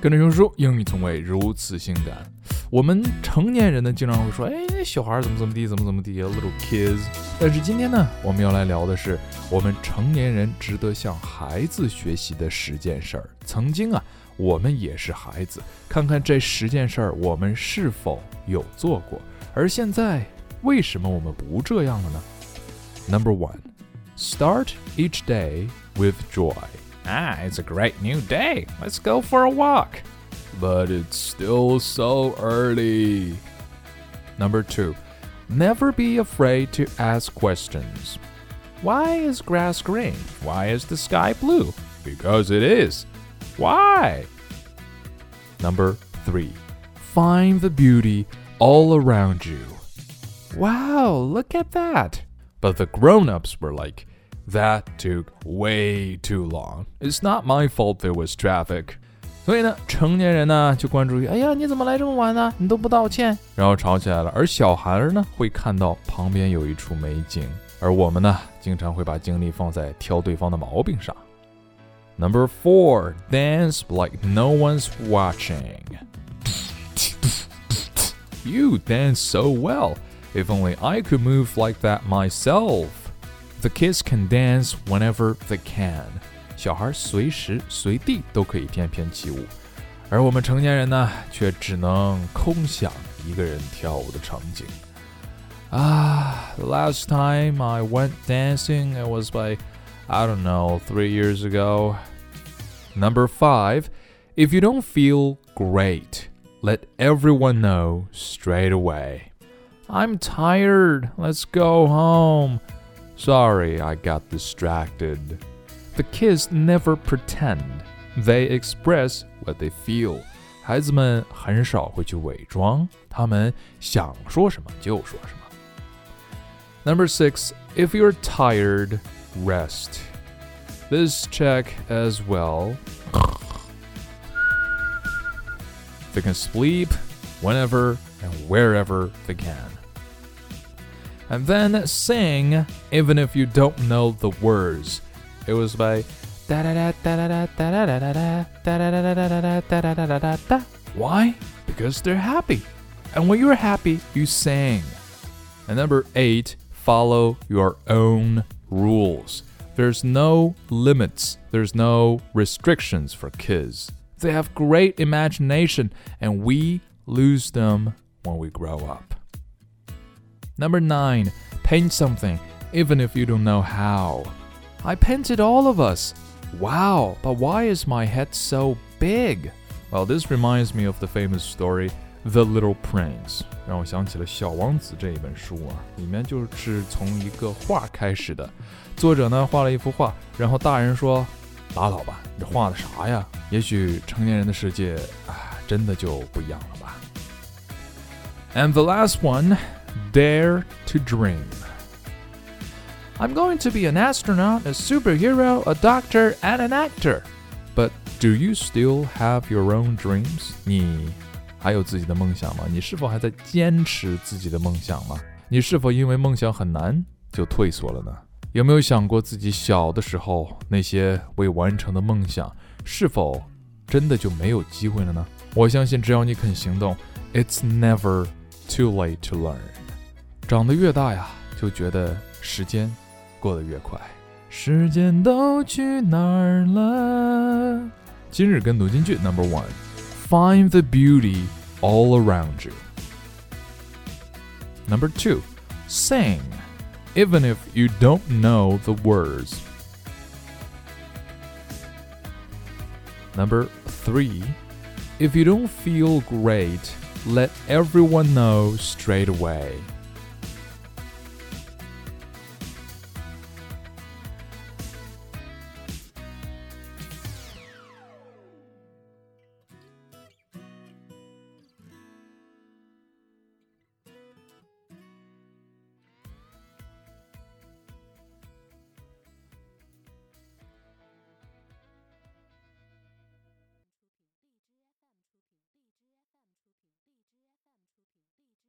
跟着熊叔，英语从未如此性感。我们成年人呢，经常会说，小孩怎么地，怎么地 ，a little kids。但是今天呢，我们要来聊的是我们成年人值得向孩子学习的10件事儿。曾经啊，我们也是孩子，看看这10件事儿，我们是否有做过？而现在，为什么我们不这样了呢？ Number 1, start each day with joy.It's a great new day. Let's go for a walk. But it's still so early. Number 2, never be afraid to ask questions. Why is grass green? Why is the sky blue? Because it is. Why? Number 3, find the beauty all around you. Wow, look at that. But the grown-ups were like,That took way too long. It's not my fault there was traffic. 所以呢，成年人呢就关注于，你怎么来这么晚呢？你都不道歉，然后吵起来了。而小孩呢会看到旁边有一处美景，而我们呢经常会把精力放在挑对方的毛病上。Number 4, dance like no one's watching. You dance so well. If only I could move like that myself.The kids can dance whenever they can. 小孩随时随地都可以翩翩起舞，而我们成年人呢，却只能空想一个人跳舞的场景。The last time I went dancing, it was by, 3 years ago. Number 5, if you don't feel great, let everyone know straight away. I'm tired. Let's go home.Sorry, I got distracted. The kids never pretend. They express what they feel. 孩子们很少会去伪装，他们想说什么就说什么。Number 6, if you're tired, rest. This check as well. They can sleep whenever and wherever they can.And then sing, even if you don't know the words. It was by Why? Because they're happy. And when you're happy, you sing. And number 8, follow your own rules. There's no limits. There's no restrictions for kids. They have great imagination, and we lose them when we grow up.Number 9, paint something, even if you don't know how. I painted all of us. Wow, but why is my head so big? Well, this reminds me of the famous story, The Little Prince. 让我想起了《小王子》这一本书啊，里面就是从一个画开始的。作者呢画了一幅画，然后大人说：“拉倒吧，你这画的啥呀？”也许成年人的世界真的就不一样了吧。And the last one.Dare to dream. I'm going to be an astronaut, a superhero, a doctor, and an actor. But do you still have your own dreams? 你还有自己的梦想吗？你是否还在坚持自己的梦想吗？你是否因为梦想很难就退缩了呢？有没有想过自己小的时候那些未完成的梦想，是否真的就没有机会了呢？我相信只要你肯行动 ，It's never too late to learn.长得越大呀，就觉得时间过得越快。时间都去哪儿了？今日跟读金句 Number 1, find the beauty all around you. Number 2, sing, even if you don't know the words. Number 3, if you don't feel great, let everyone know straight away.